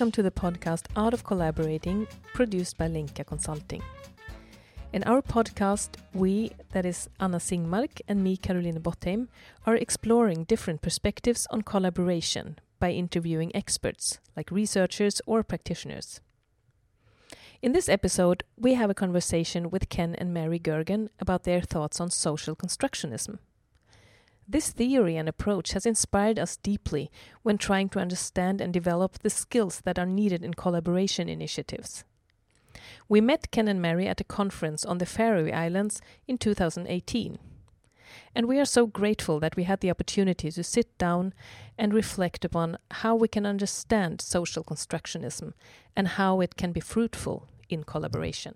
Welcome to the podcast Art of Collaborating, produced by Lenka Consulting. In our podcast, we, that is Anna Singmark and me, Caroline Bottheim, are exploring different perspectives on collaboration by interviewing experts, like researchers or practitioners. In this episode, we have a conversation with Ken and Mary Gergen about their thoughts on social constructionism. This theory and approach has inspired us deeply when trying to understand and develop the skills that are needed in collaboration initiatives. We met Ken and Mary at a conference on the Faroe Islands in 2018. And we are so grateful that we had the opportunity to sit down and reflect upon how we can understand social constructionism and how it can be fruitful in collaboration.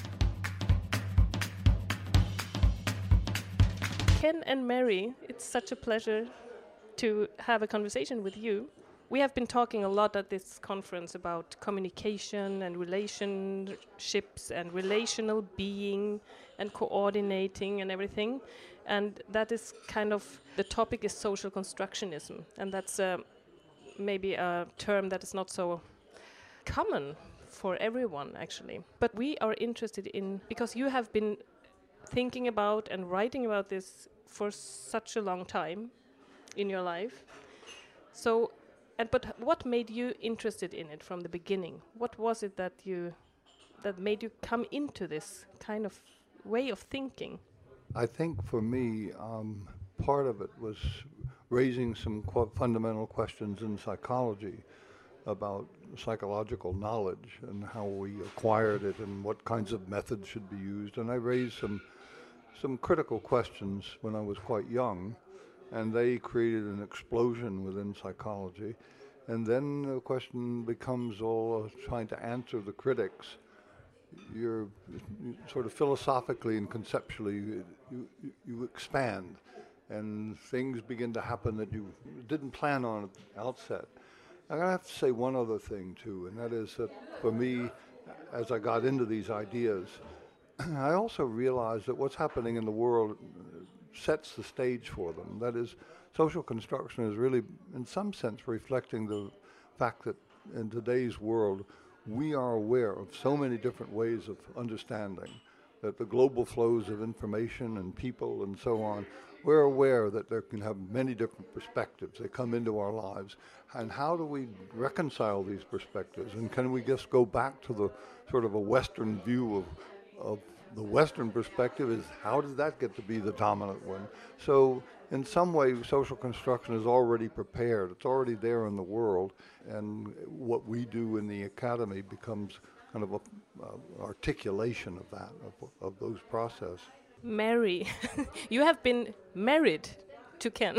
Ken and Mary, it's such a pleasure to have a conversation with you. We have been talking a lot at this conference about communication and relationships and relational being and coordinating and everything. And that is kind of, the topic is social constructionism. And that's maybe a term that is not so common for everyone, actually. But we are interested in, because you have been thinking about and writing about this for such a long time in your life. So, but what made you interested in it from the beginning? What was it that made you come into this kind of way of thinking? I think for me, part of it was raising some fundamental questions in psychology about psychological knowledge and how we acquired it and what kinds of methods should be used. And I raised some critical questions when I was quite young, and they created an explosion within psychology. And then the question becomes all trying to answer the critics. You're sort of philosophically and conceptually, you expand, and things begin to happen that you didn't plan on at the outset. I'm going to have to say one other thing, too, and that is that for me, as I got into these ideas, I also realized that what's happening in the world sets the stage for them. That is, social construction is really, in some sense, reflecting the fact that in today's world, we are aware of so many different ways of understanding, that the global flows of information and people and so on, we're aware that there can have many different perspectives. They come into our lives. And how do we reconcile these perspectives? And can we just go back to the sort of a Western view of the Western perspective is how does that get to be the dominant one? So in some way, social construction is already prepared. It's already there in the world. And what we do in the academy becomes kind of an articulation of that, of those processes. Mary, you have been married to Ken.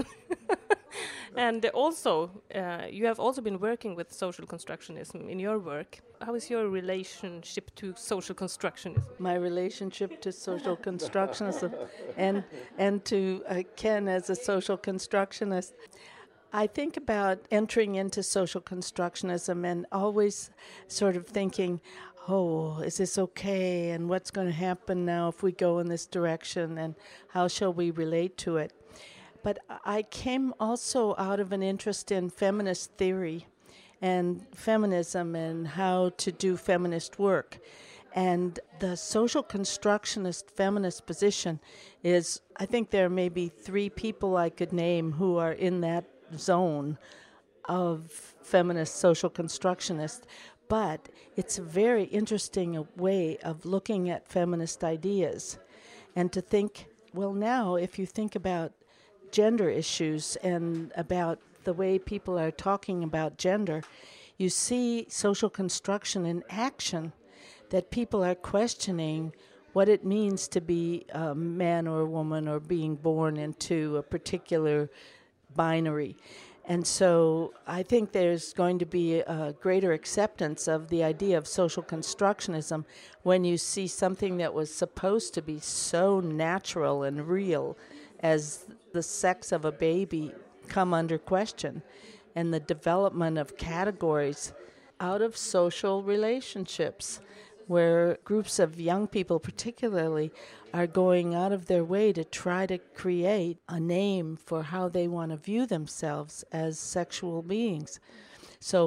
And also, you have also been working with social constructionism in your work. How is your relationship to social constructionism? My relationship to social constructionism and to Ken as a social constructionist. I think about entering into social constructionism and always sort of thinking, oh, is this okay? And what's going to happen now if we go in this direction? And how shall we relate to it? But I came also out of an interest in feminist theory and feminism and how to do feminist work. And the social constructionist feminist position is, I think there are maybe 3 people I could name who are in that zone of feminist social constructionist. But it's a very interesting way of looking at feminist ideas. And to think, well, now if you think about gender issues and about the way people are talking about gender, you see social construction in action, that people are questioning what it means to be a man or a woman or being born into a particular binary. And so I think there's going to be a greater acceptance of the idea of social constructionism when you see something that was supposed to be so natural and real as the sex of a baby come under question, and the development of categories out of social relationships where groups of young people particularly are going out of their way to try to create a name for how they want to view themselves as sexual beings. So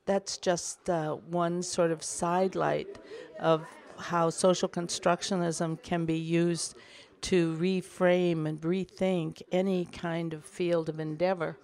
that's just one sort of sidelight of how social constructionism can be used to reframe and rethink any kind of field of endeavor.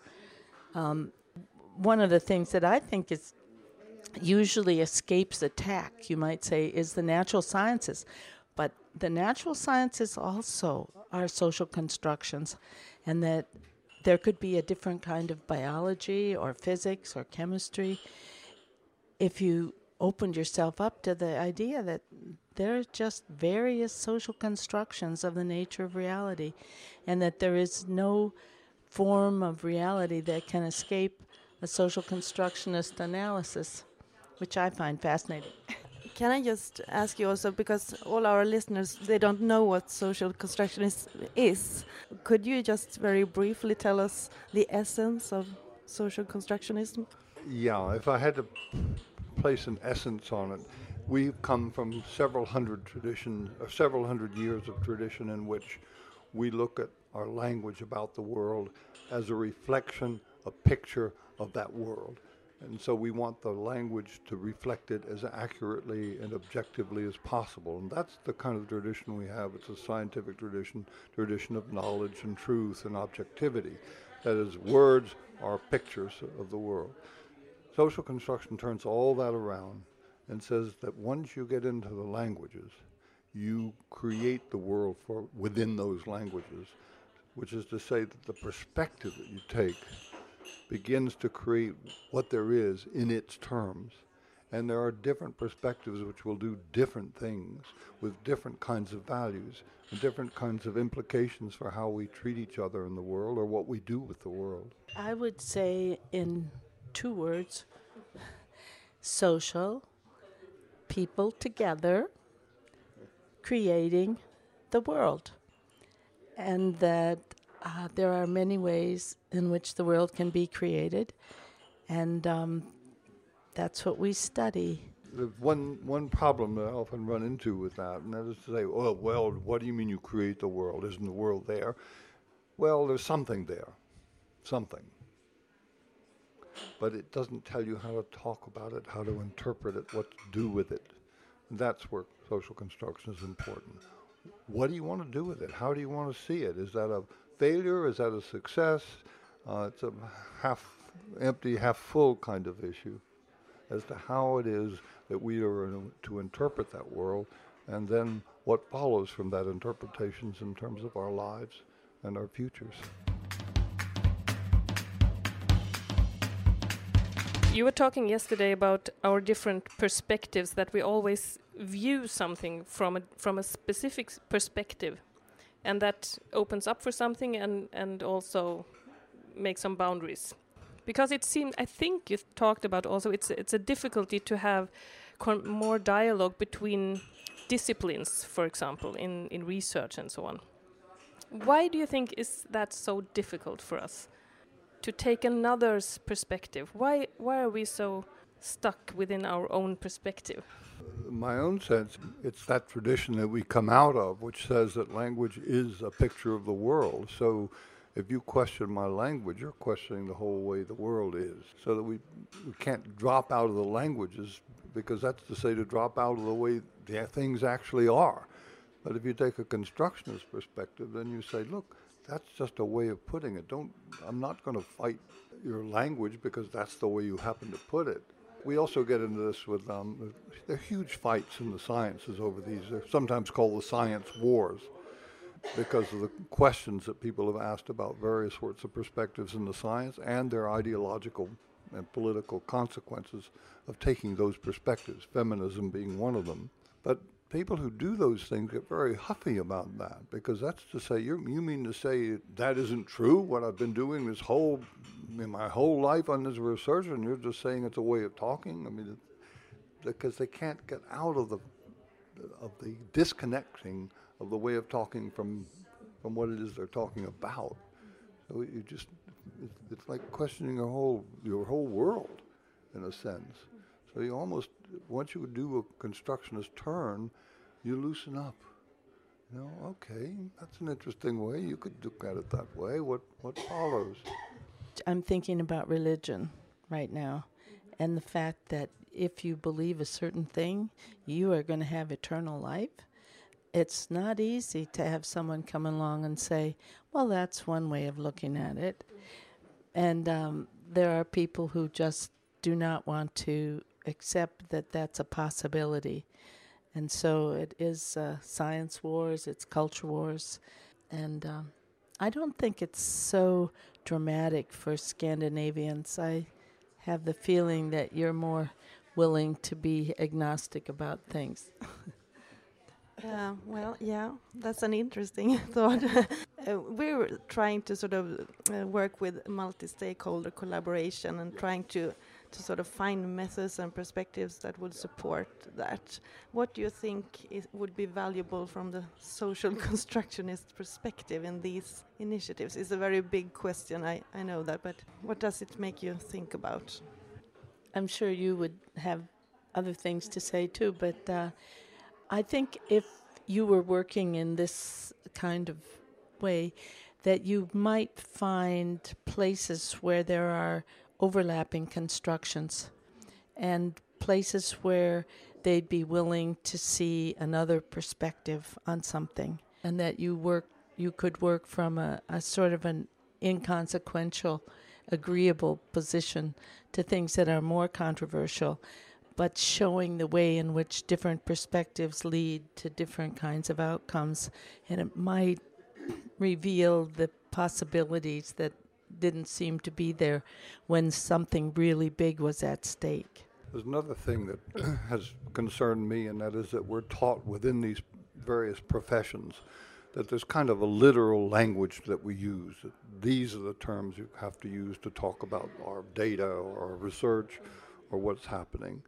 One of the things that I think is usually escapes attack, you might say, is the natural sciences. But the natural sciences also are social constructions, and that there could be a different kind of biology or physics or chemistry if you opened yourself up to the idea that there are just various social constructions of the nature of reality, and that there is no form of reality that can escape a social constructionist analysis, which I find fascinating. Can I just ask you also, because all our listeners, they don't know what social constructionism is. Could you just very briefly tell us the essence of social constructionism? Yeah, if I had to place an essence on it, we've come from several hundred years of tradition in which we look at our language about the world as a reflection, a picture of that world. And so we want the language to reflect it as accurately and objectively as possible. And that's the kind of tradition we have. It's a scientific tradition of knowledge and truth and objectivity. That is, words are pictures of the world. Social construction turns all that around and says that once you get into the languages, you create the world within those languages, which is to say that the perspective that you take begins to create what there is in its terms. And there are different perspectives which will do different things with different kinds of values and different kinds of implications for how we treat each other in the world or what we do with the world. I would say in 2 words, social, people together, creating the world. And that there are many ways in which the world can be created, and that's what we study. There's one problem that I often run into with that, and that is to say, oh, well, what do you mean you create the world? Isn't the world there? Well, there's something there, something. But it doesn't tell you how to talk about it, how to interpret it, what to do with it. And that's where social construction is important. What do you want to do with it? How do you want to see it? Is that a failure? Is that a success? It's a half empty, half full kind of issue as to how it is that we are to interpret that world, and then what follows from that interpretations in terms of our lives and our futures. You were talking yesterday about our different perspectives, that we always view something from a specific perspective, and that opens up for something and also makes some boundaries. Because it seemed, I think you talked about also, it's a difficulty to have more dialogue between disciplines, for example, in research and so on. Why do you think is that so difficult for us to take another's perspective? Why are we so stuck within our own perspective? My own sense, it's that tradition that we come out of, which says that language is a picture of the world. So if you question my language, you're questioning the whole way the world is. So that we can't drop out of the languages, because that's to say to drop out of the way the things actually are. But if you take a constructionist perspective, then you say, look, that's just a way of putting it. I'm not going to fight your language because that's the way you happen to put it. We also get into this with, there are huge fights in the sciences over these. They're sometimes called the science wars because of the questions that people have asked about various sorts of perspectives in the science and their ideological and political consequences of taking those perspectives, feminism being one of them. But people who do those things get very huffy about that, because that's to say, you mean to say that isn't true, what I've been doing my whole life on this research, and you're just saying it's a way of talking? I mean, because they can't get out of the disconnecting of the way of talking from what it is they're talking about. So it's like questioning your whole world, in a sense. So you almost, once you do a constructionist turn, you loosen up. Okay, that's an interesting way. You could look at it that way. What follows? I'm thinking about religion right now, and the fact that if you believe a certain thing, you are going to have eternal life. It's not easy to have someone come along and say, well, that's one way of looking at it. And there are people who just do not want to accept that that's a possibility. And so it is science wars, it's culture wars. And I don't think it's so dramatic for Scandinavians. I have the feeling that you're more willing to be agnostic about things. That's an interesting thought. We're trying to sort of work with multi-stakeholder collaboration and trying to sort of find methods and perspectives that would support that. What do you think would be valuable from the social constructionist perspective in these initiatives? It's a very big question, I know that, but what does it make you think about? I'm sure you would have other things to say too, but I think if you were working in this kind of way, that you might find places where there are overlapping constructions and places where they'd be willing to see another perspective on something, and that you could work from a sort of an inconsequential, agreeable position to things that are more controversial, but showing the way in which different perspectives lead to different kinds of outcomes. And it might reveal the possibilities that didn't seem to be there when something really big was at stake. There's another thing that has concerned me, and that is that we're taught within these various professions that there's kind of a literal language that we use. These are the terms you have to use to talk about our data or our research or what's happening.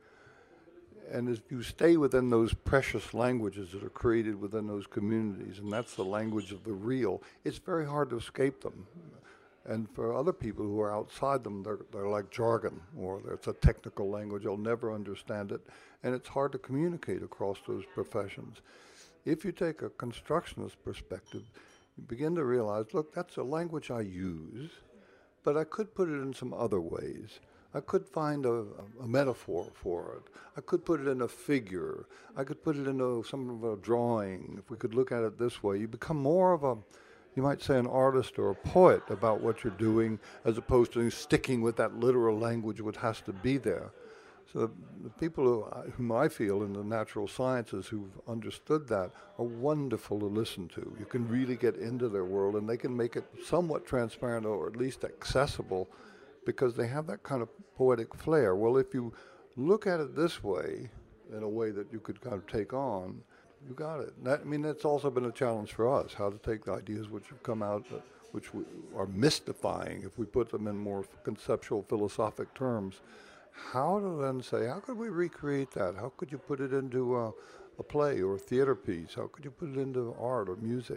And as you stay within those precious languages that are created within those communities, and that's the language of the real, it's very hard to escape them. And for other people who are outside them, they're like jargon, or it's a technical language, they'll never understand it, and it's hard to communicate across those professions. If you take a constructionist perspective, you begin to realize, look, that's a language I use, but I could put it in some other ways. I could find a metaphor for it. I could put it in a figure. I could put it into some of a drawing. If we could look at it this way, you become more of a, you might say, an artist or a poet about what you're doing, as opposed to sticking with that literal language which has to be there. So the people whom I feel in the natural sciences who've understood that are wonderful to listen to. You can really get into their world, and they can make it somewhat transparent or at least accessible, because they have that kind of poetic flair. Well, if you look at it this way, in a way that you could kind of take on, you got it. That's also been a challenge for us, how to take the ideas which have come out, which are mystifying, if we put them in more conceptual, philosophic terms. How to then say, how could we recreate that? How could you put it into a play or a theater piece? How could you put it into art or music?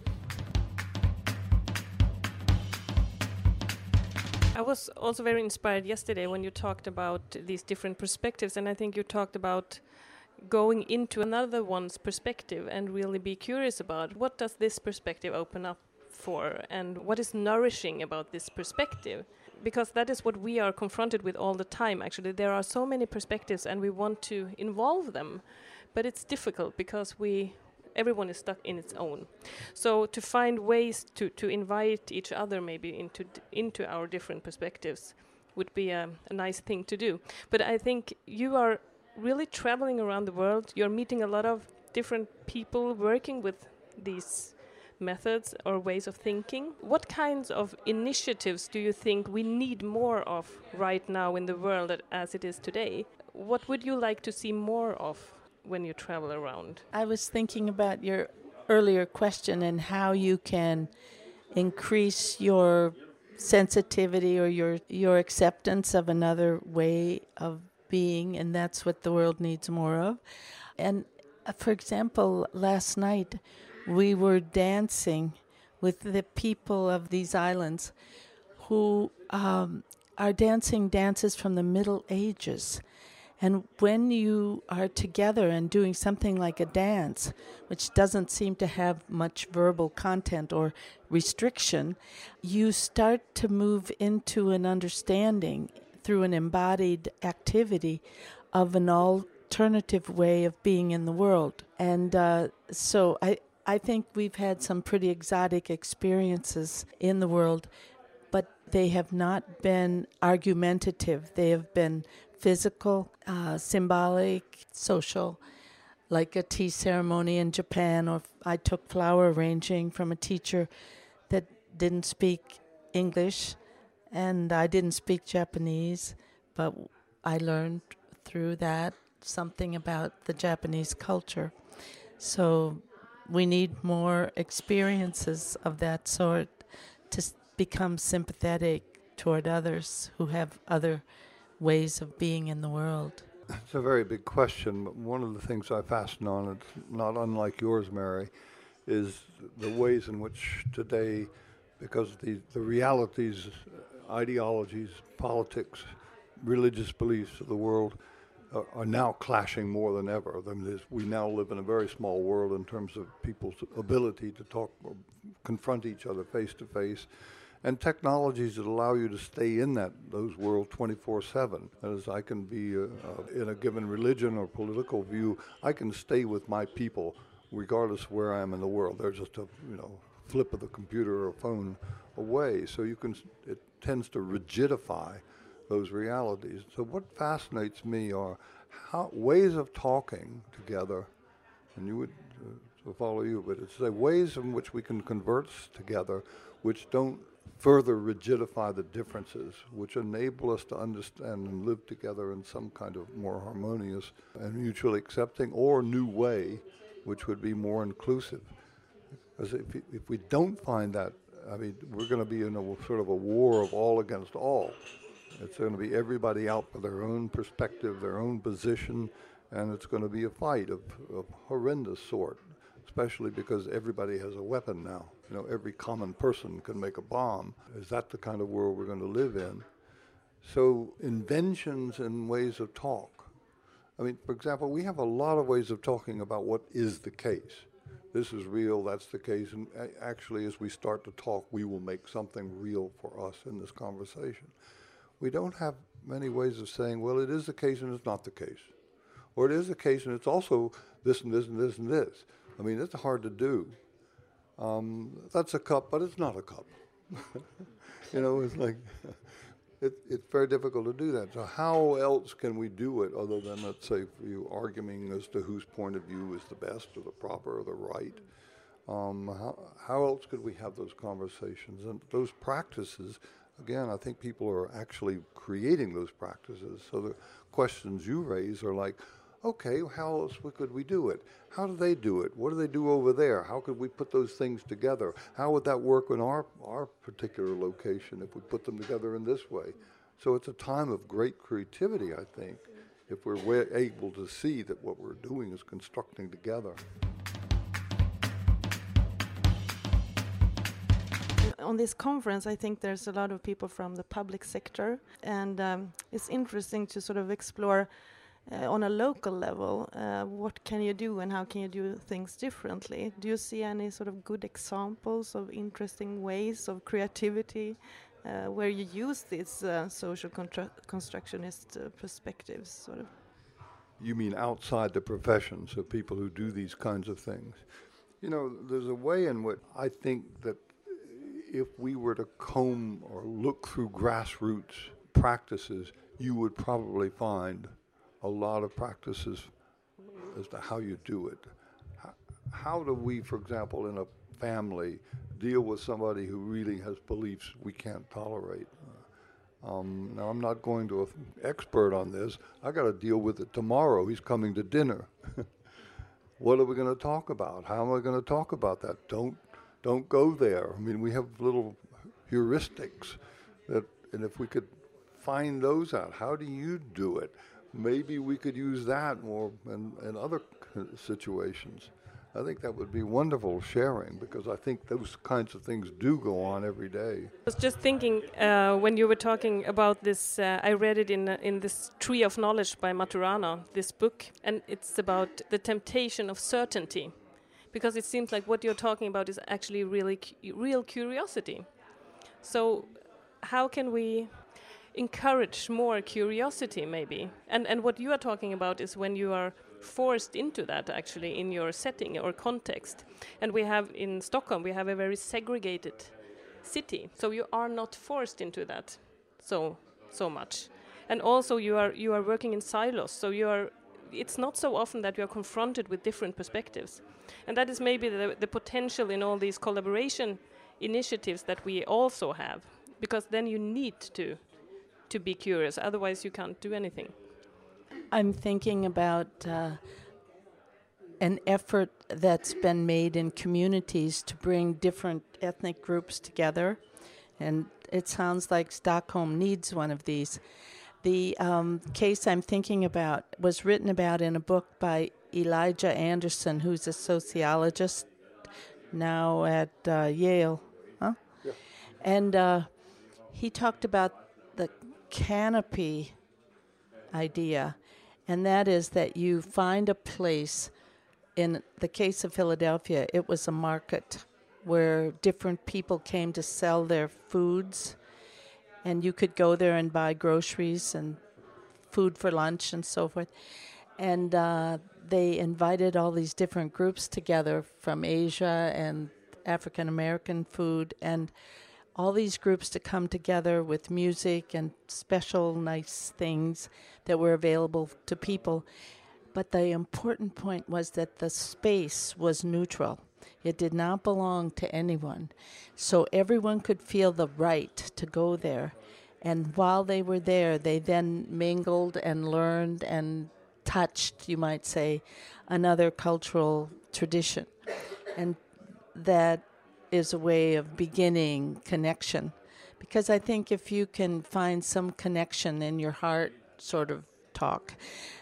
I was also very inspired yesterday when you talked about these different perspectives, and I think you talked about going into another one's perspective and really be curious about what does this perspective open up for, and what is nourishing about this perspective, because that is what we are confronted with all the time. Actually, there are so many perspectives and we want to involve them, but it's difficult because everyone is stuck in its own. So to find ways to invite each other maybe into our different perspectives would be a nice thing to do. But I think you are really traveling around the world. You're meeting a lot of different people working with these methods or ways of thinking. What kinds of initiatives do you think we need more of right now in the world as it is today? What would you like to see more of when you travel around? I was thinking about your earlier question and how you can increase your sensitivity or your acceptance of another way of being, and that's what the world needs more of. And for example, last night we were dancing with the people of these islands who are dancing dances from the Middle Ages. And when you are together and doing something like a dance, which doesn't seem to have much verbal content or restriction, you start to move into an understanding through an embodied activity of an alternative way of being in the world. And so I think we've had some pretty exotic experiences in the world, but they have not been argumentative. They have been physical, symbolic, social, like a tea ceremony in Japan, or I took flower arranging from a teacher that didn't speak English, and I didn't speak Japanese, but I learned through that something about the Japanese culture. So we need more experiences of that sort to become sympathetic toward others who have other ways of being in the world. It's a very big question, but one of the things I fasten on, it's not unlike yours, Mary, is the ways in which today, because the realities, ideologies, politics, religious beliefs of the world are now clashing more than ever. I mean, we now live in a very small world in terms of people's ability to talk or confront each other face to face, and technologies that allow you to stay in those worlds 24/7. As I can be in a given religion or political view, I can stay with my people regardless of where I am in the world. They're just a flip of the computer or phone away. So it tends to rigidify those realities. So what fascinates me are ways of talking together, and you would follow you, but it's the ways in which we can converse together, which don't further rigidify the differences, which enable us to understand and live together in some kind of more harmonious and mutually accepting or new way, which would be more inclusive. Because if we don't find that, I mean, we're going to be in a sort of a war of all against all. It's going to be everybody out for their own perspective, their own position, and it's going to be a fight of horrendous sort, especially because everybody has a weapon now. Every common person can make a bomb. Is that the kind of world we're going to live in? So inventions and ways of talk. I mean, for example, we have a lot of ways of talking about what is the case. This is real, that's the case, and actually as we start to talk, we will make something real for us in this conversation. We don't have many ways of saying, well, it is the case and it's not the case. Or it is the case and it's also this and this and this and this. I mean, it's hard to do. That's a cup, but it's not a cup. It's like, it's very difficult to do that. So how else can we do it other than, let's say, for you, arguing as to whose point of view is the best or the proper or the right? How else could we have those conversations? And those practices, again, I think people are actually creating those practices. So the questions you raise are like, okay, how else could we do it? How do they do it? What do they do over there? How could we put those things together? How would that work in our particular location if we put them together in this way? So it's a time of great creativity, I think, if we're able to see that what we're doing is constructing together. On this conference, I think there's a lot of people from the public sector, and it's interesting to sort of explore on a local level, what can you do and how can you do things differently? Do you see any sort of good examples of interesting ways of creativity where you use these social constructionist perspectives, sort of? You mean outside the profession, so people who do these kinds of things? There's a way in which I think that if we were to comb or look through grassroots practices, you would probably find a lot of practices as to how you do it. How do we, for example, in a family, deal with somebody who really has beliefs we can't tolerate? Now, I'm not going to an expert on this. I got to deal with it tomorrow. He's coming to dinner. What are we going to talk about? How am I going to talk about that? Don't go there. I mean, we have little heuristics and if we could find those out, how do you do it? Maybe we could use that more in other situations. I think that would be wonderful sharing, because I think those kinds of things do go on every day. I was just thinking when you were talking about this, I read it in this Tree of Knowledge by Maturana, this book, and it's about the temptation of certainty, because it seems like what you're talking about is actually really real curiosity. So how can we encourage more curiosity, maybe. And what you are talking about is when you are forced into that, actually, in your setting or context. And we have in Stockholm, we have a very segregated city, so you are not forced into that so much. And also you are working in silos, so it's not so often that you are confronted with different perspectives. And that is maybe the potential in all these collaboration initiatives that we also have, because then you need to be curious, otherwise you can't do anything. I'm thinking about an effort that's been made in communities to bring different ethnic groups together, and it sounds like Stockholm needs one of these. The case I'm thinking about was written about in a book by Elijah Anderson, who's a sociologist now at Yale. Huh? Yeah. And he talked about the canopy idea, and that is that you find a place. In the case of Philadelphia, it was a market where different people came to sell their foods, and you could go there and buy groceries and food for lunch and so forth. And they invited all these different groups together from Asia and African American food, and all these groups to come together with music and special nice things that were available to people. But the important point was that the space was neutral. It did not belong to anyone. So everyone could feel the right to go there. And while they were there, they then mingled and learned and touched, you might say, another cultural tradition. And that is a way of beginning connection. Because I think if you can find some connection in your heart talk,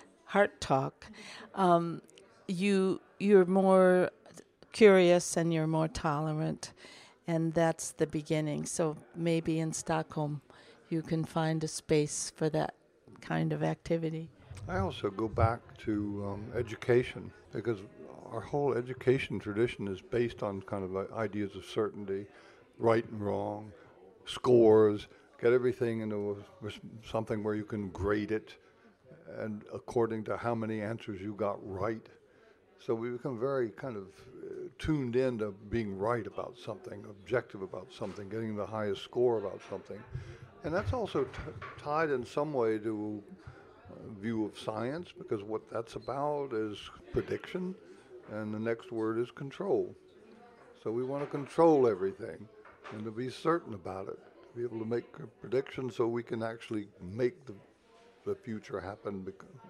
you're more curious and you're more tolerant, and that's the beginning. So maybe in Stockholm you can find a space for that kind of activity. I also go back to education, because our whole education tradition is based on kind of ideas of certainty, right and wrong, scores, get everything into something where you can grade it, and according to how many answers you got right. So we become very kind of tuned in to being right about something, objective about something, getting the highest score about something. And that's also tied in some way to a view of science, because what that's about is prediction, and the next word is control. So we want to control everything and to be certain about it, to be able to make a prediction so we can actually make the future happen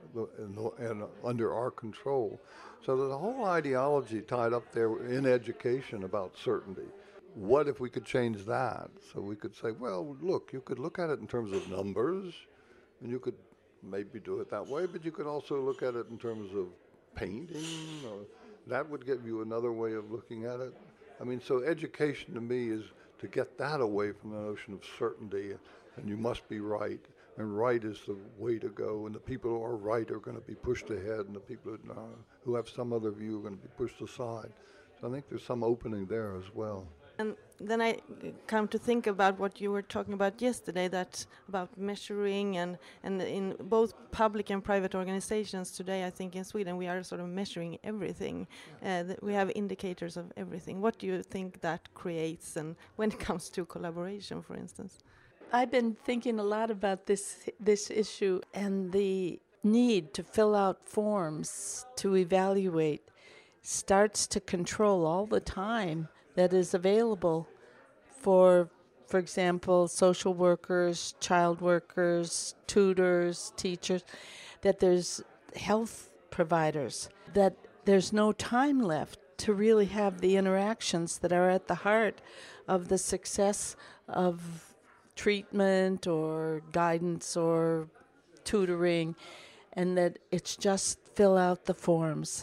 and under our control. So there's a whole ideology tied up there in education about certainty. What if we could change that? So we could say, well, look, you could look at it in terms of numbers, and you could maybe do it that way, but you could also look at it in terms of painting, or that would give you another way of looking at it. I mean, so education to me is to get that away from the notion of certainty, and you must be right. And right is the way to go, and the people who are right are going to be pushed ahead, and the people who have some other view are going to be pushed aside. So I think there's some opening there as well. And then I come to think about what you were talking about yesterday, that about measuring, and in both public and private organizations today, I think in Sweden we are sort of measuring everything. We have indicators of everything. What do you think that creates, and when it comes to collaboration, for instance? I've been thinking a lot about this issue, and the need to fill out forms to evaluate starts to control all the time that is available for example, social workers, child workers, tutors, teachers, that there's health providers, that there's no time left to really have the interactions that are at the heart of the success of treatment or guidance or tutoring, and that it's just fill out the forms,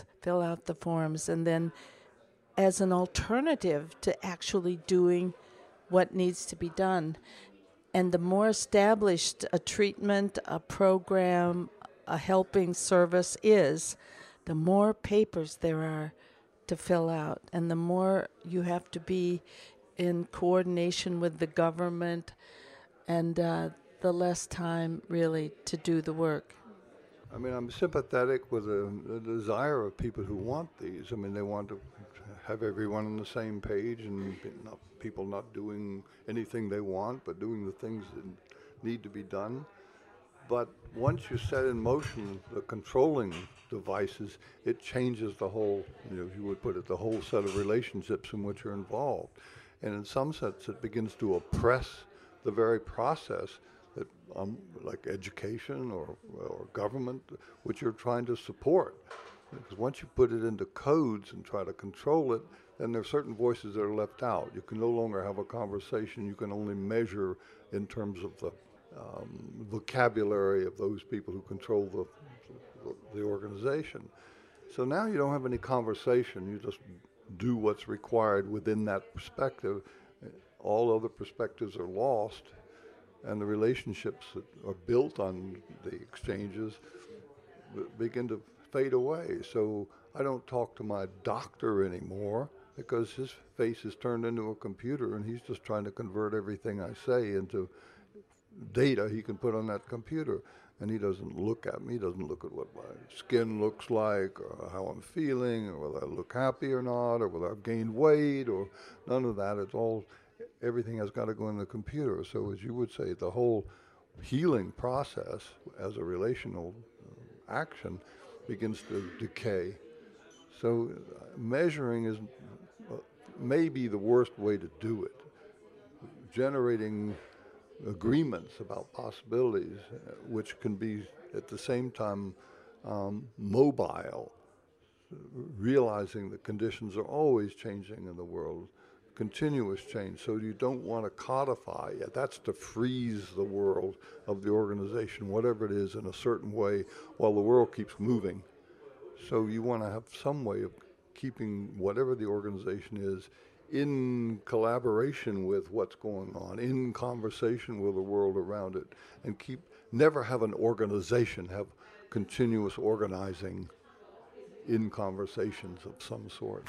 and then as an alternative to actually doing what needs to be done. And the more established a treatment, a program, a helping service is, the more papers there are to fill out, and the more you have to be in coordination with the government, and the the less time really to do the work. I mean, I'm sympathetic with the desire of people who want these. I mean, they want to have everyone on the same page and people not doing anything they want, but doing the things that need to be done. But once you set in motion the controlling devices, it changes the whole, you would put it, the whole set of relationships in which you're involved. And in some sense, it begins to oppress the very process that, like education or government, which you're trying to support. Because once you put it into codes and try to control it, then there are certain voices that are left out. You can no longer have a conversation. You can only measure in terms of the vocabulary of those people who control the organization. So now you don't have any conversation. You just do what's required within that perspective. All other perspectives are lost, and the relationships that are built on the exchanges begin to fade away. So I don't talk to my doctor anymore because his face is turned into a computer, and he's just trying to convert everything I say into data he can put on that computer. And he doesn't look at me, he doesn't look at what my skin looks like, or how I'm feeling, or whether I look happy or not, or whether I've gained weight, or none of that. It's all, everything has got to go in the computer. So as you would say, the whole healing process as a relational action begins to decay. So measuring is maybe the worst way to do it. Generating agreements about possibilities, which can be at the same time mobile, realizing that conditions are always changing in the world, continuous change. So you don't want to codify it. That's to freeze the world of the organization, whatever it is, in a certain way while the world keeps moving. So you want to have some way of keeping whatever the organization is in collaboration with what's going on, in conversation with the world around it, and never have an organization have continuous organizing in conversations of some sort.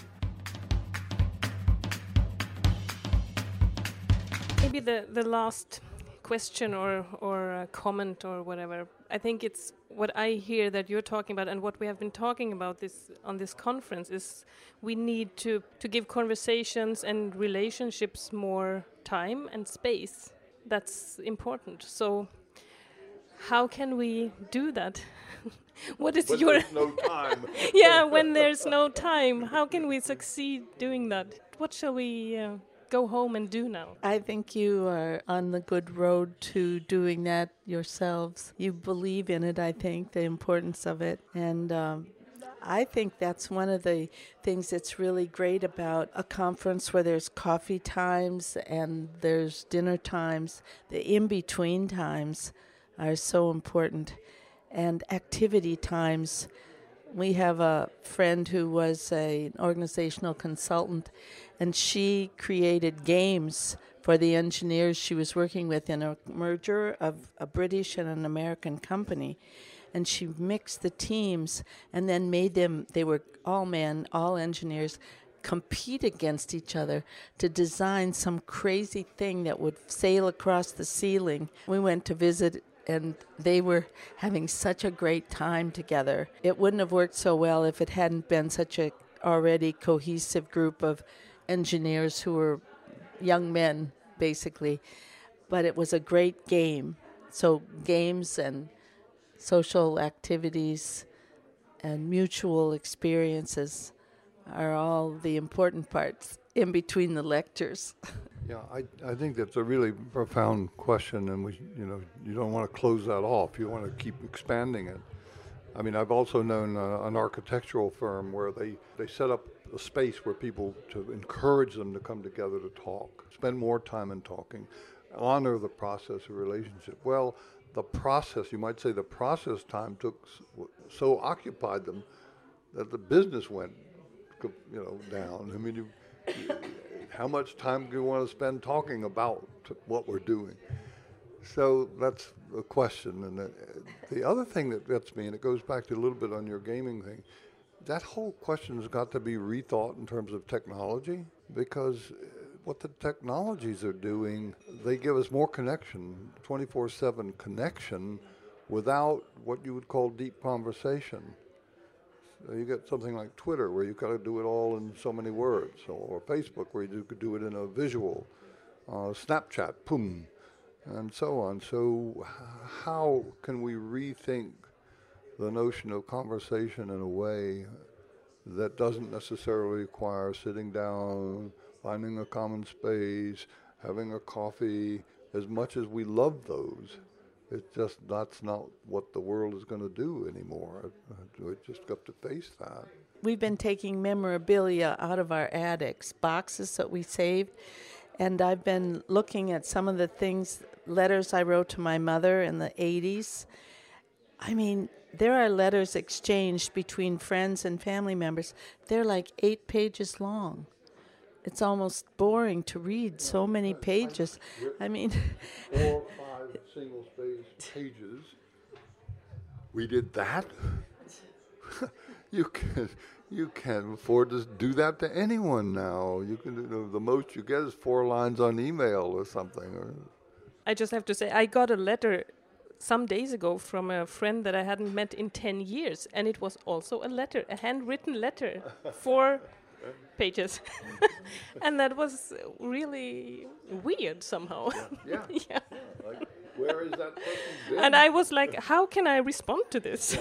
Maybe the last question or comment or whatever. I think it's what I hear that you're talking about, and what we have been talking about on this conference is we need to give conversations and relationships more time and space. That's important. So how can we do that? What is your there's no time. Yeah, when there's no time, how can we succeed doing that? What shall we go home and do now? I think you are on the good road to doing that yourselves. You believe in it, I think, the importance of it. And I think that's one of the things that's really great about a conference where there's coffee times and there's dinner times. The in-between times are so important. And activity times. We have a friend who was an organizational consultant, and she created games for the engineers she was working with in a merger of a British and an American company. And she mixed the teams and then made them, they were all men, all engineers, compete against each other to design some crazy thing that would sail across the ceiling. We went to visit, and they were having such a great time together. It wouldn't have worked so well if it hadn't been such a already cohesive group of engineers who were young men, basically. But it was a great game. So games and social activities and mutual experiences are all the important parts in between the lectures. Yeah, I think that's a really profound question, and you don't want to close that off. You want to keep expanding it. I mean, I've also known an architectural firm where they set up a space where people, to encourage them to come together to talk, spend more time in talking, honor the process of relationship. Well, the process, you might say the process time so occupied them that the business went, down. I mean, how much time do you want to spend talking about what we're doing? So that's a question. And the other thing that gets me, and it goes back to a little bit on your gaming thing, that whole question has got to be rethought in terms of technology, because what the technologies are doing, they give us more connection, 24/7 connection, without what you would call deep conversation. You get something like Twitter, where you've got to do it all in so many words, or Facebook, where you could do it in a visual, Snapchat, boom, and so on. So how can we rethink the notion of conversation in a way that doesn't necessarily require sitting down, finding a common space, having a coffee? As much as we love those, it's just that's not what the world is going to do anymore. We just got to face that. We've been taking memorabilia out of our attics, boxes that we saved, and I've been looking at some of the things, letters I wrote to my mother in the 80s. I mean, there are letters exchanged between friends and family members. They're like 8 pages long. It's almost boring to read so many pages. I mean, 4 or 5 single-spaced pages. We did that? You can't afford to do that to anyone now. You can the most you get is 4 lines on email or something. I just have to say, I got a letter some days ago from a friend that I hadn't met in 10 years, and it was also a letter, a handwritten letter, 4 pages. And that was really weird somehow. Yeah. Yeah. Like, where is that person been? And I was like, how can I respond to this?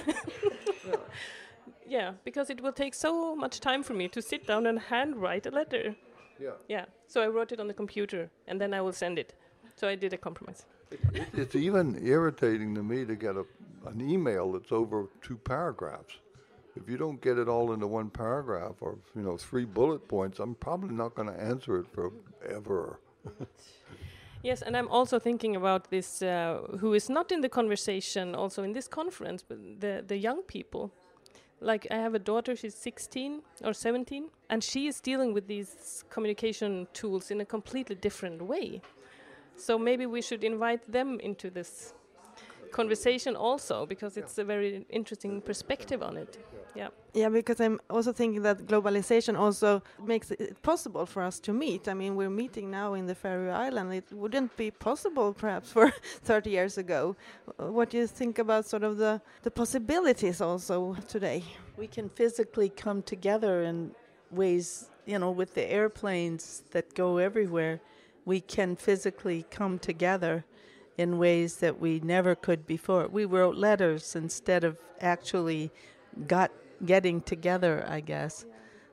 Yeah, because it will take so much time for me to sit down and handwrite a letter. Yeah. So I wrote it on the computer, and then I will send it. So I did a compromise. It's even irritating to me to get an email that's over 2 paragraphs. If you don't get it all into 1 paragraph or 3 bullet points, I'm probably not going to answer it forever. Yes, and I'm also thinking about this, who is not in the conversation also in this conference, but the young people. Like, I have a daughter, she's 16 or 17, and she is dealing with these communication tools in a completely different way. So maybe we should invite them into this conversation also, because it's a very interesting perspective on it. Yeah, because I'm also thinking that globalization also makes it possible for us to meet. I mean, we're meeting now in the Faroe Islands. It wouldn't be possible perhaps for 30 years ago. What do you think about sort of the possibilities also today? we can physically come together in ways, with the airplanes that go everywhere. We can physically come together in ways that we never could before. We wrote letters instead of actually getting together, I guess.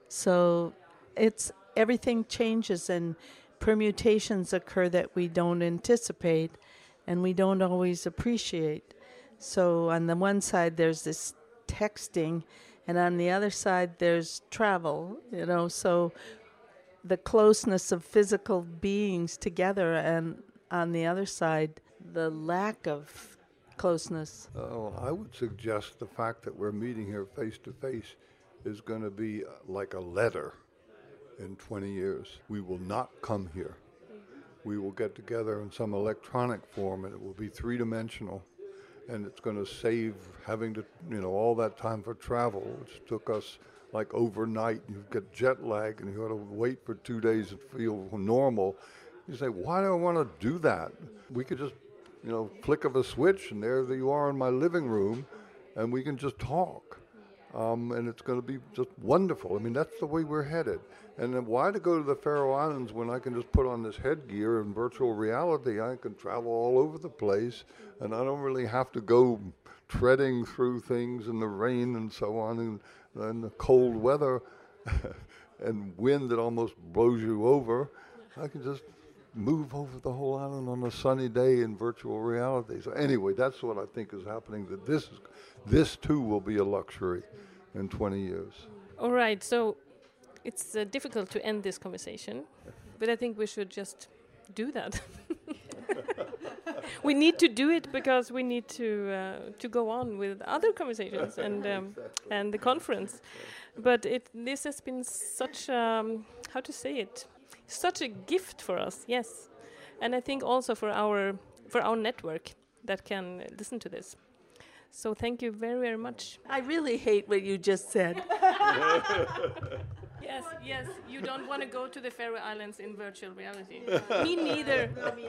So everything changes and permutations occur that we don't anticipate and we don't always appreciate. So on the one side there's this texting, and on the other side there's travel, so the closeness of physical beings together, and on the other side the lack of closeness. I would suggest the fact that we're meeting here face to face is going to be like a letter in 20 years. We will not come here. We will get together in some electronic form, and it will be 3-dimensional, and it's going to save having to, all that time for travel, which took us like overnight. You get jet lag, and you got to wait for 2 days to feel normal. You say, why do I want to do that? We could just flick of a switch, and there you are in my living room, and we can just talk. And it's going to be just wonderful. I mean, that's the way we're headed. And then why to go to the Faroe Islands when I can just put on this headgear in virtual reality? I can travel all over the place, and I don't really have to go treading through things in the rain and so on, and the cold weather and wind that almost blows you over. I can just move over the whole island on a sunny day in virtual reality. So anyway, that's what I think is happening, that this too will be a luxury in 20 years. All right, so it's difficult to end this conversation, but I think we should just do that. We need to do it because we need to go on with other conversations and the conference. But this has been such how to say it, such a gift for us, yes, and I think also for our network that can listen to this. So thank you very, very much. I really hate what you just said. Yes. You don't want to go to the Faroe Islands in virtual reality. Me neither.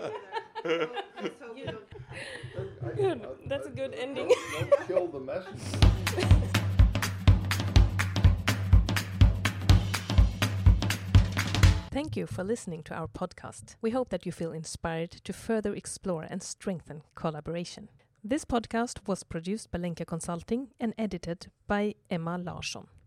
Good. That's a good ending. Don't kill the message. Thank you for listening to our podcast. We hope that you feel inspired to further explore and strengthen collaboration. This podcast was produced by Lenka Consulting and edited by Emma Larsson.